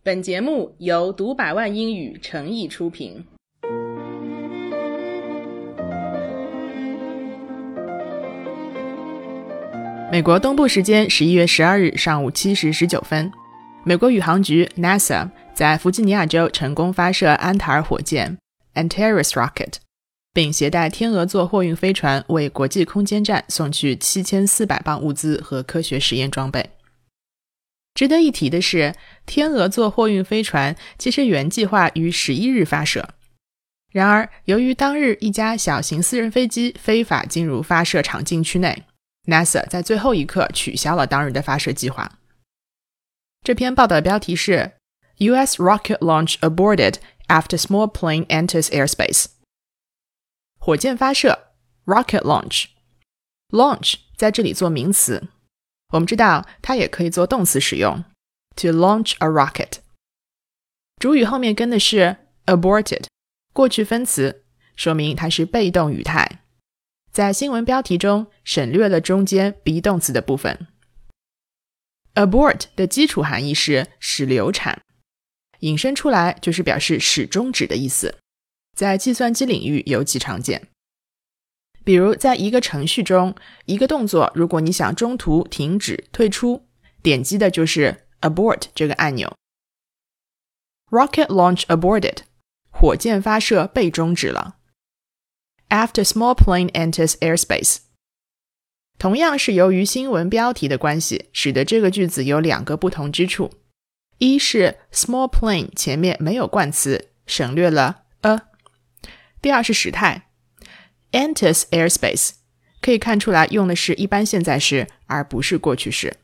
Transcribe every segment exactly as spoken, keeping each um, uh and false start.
本节目由读百万英语诚意出品。美国东部时间十一月十二日上午七时十九分，美国宇航局 NASA 在弗吉尼亚州成功发射安塔尔火箭 Antares Rocket， 并携带天鹅座货运飞船为国际空间站送去七千四百磅物资和科学实验装备。值得一提的是，天鹅座货运飞船其实原计划于十一日发射，然而由于当日一架小型私人飞机非法进入发射场禁区内， NASA 在最后一刻取消了当日的发射计划。这篇报道的标题是 U S rocket launch aborted after small plane enters airspace。 火箭发射 rocket launch launch 在这里做名词，我们知道它也可以做动词使用 to launch a rocket。 主语后面跟的是 aborted 过去分词，说明它是被动语态，在新闻标题中省略了中间 be 动词的部分。 abort 的基础含义是使流产，引申出来就是表示使终止的意思，在计算机领域尤其常见。比如在一个程序中，一个动作如果你想中途停止退出，点击的就是 abort 这个按钮。 Rocket launch aborted， 火箭发射被终止了。 After small plane enters airspace， 同样是由于新闻标题的关系，使得这个句子有两个不同之处。一是 small plane 前面没有冠词，省略了 a。 第二是时态enters airspace， 可以看出来用的是一般现在时而不是过去式。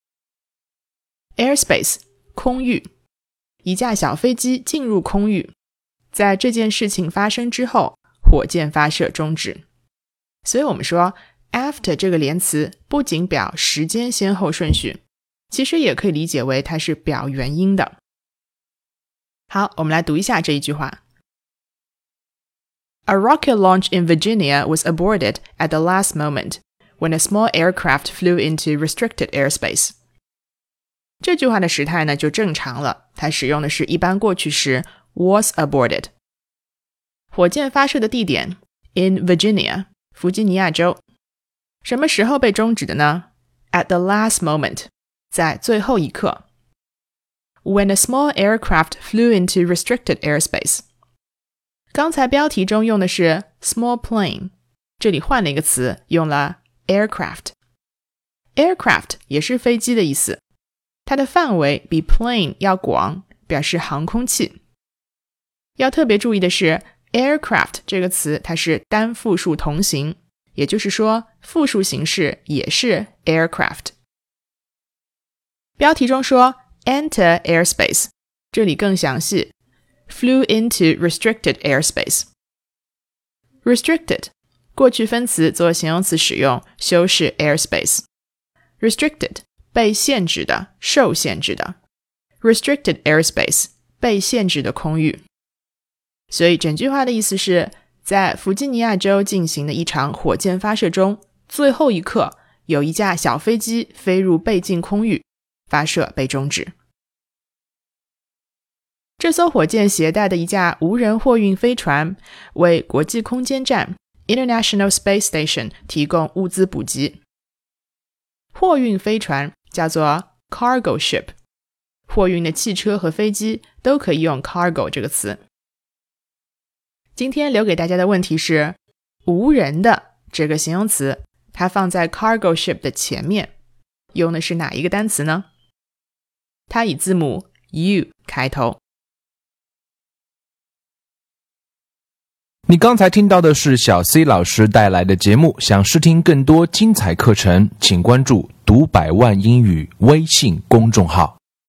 airspace 空域，一架小飞机进入空域，在这件事情发生之后，火箭发射终止。所以我们说 after 这个连词不仅表时间先后顺序，其实也可以理解为它是表原因的。好，我们来读一下这一句话。A rocket launch in Virginia was aborted at the last moment when a small aircraft flew into restricted airspace。 这句话的时态呢就正常了，它使用的是一般过去时 was aborted。 火箭发射的地点 in Virginia， 弗吉尼亚州。什么时候被终止的呢？ At the last moment， 在最后一刻。 When a small aircraft flew into restricted airspace，刚才标题中用的是 small plane， 这里换了一个词，用了 aircraft。 aircraft 也是飞机的意思，它的范围比 plane 要广，表示航空器。要特别注意的是 aircraft 这个词它是单复数同形，也就是说复数形式也是 aircraft。 标题中说 enter airspace， 这里更详细Flew into restricted airspace。 Restricted 过去分词做形容词使用，修饰 airspace。 Restricted 被限制的，受限制的。 Restricted airspace 被限制的空域。所以整句话的意思是，在弗吉尼亚州进行的一场火箭发射中，最后一刻有一架小飞机飞入被禁空域，发射被终止。这艘火箭携带的一架无人货运飞船为国际空间站 International Space Station 提供物资补给。货运飞船叫做 cargo ship， 货运的汽车和飞机都可以用 cargo 这个词。今天留给大家的问题是，无人的这个形容词它放在 cargo ship 的前面，用的是哪一个单词呢？它以字母 U 开头。 你刚才听到的是小 C 老师带来的节目，想试听更多精彩课程，请关注读百万英语微信公众号。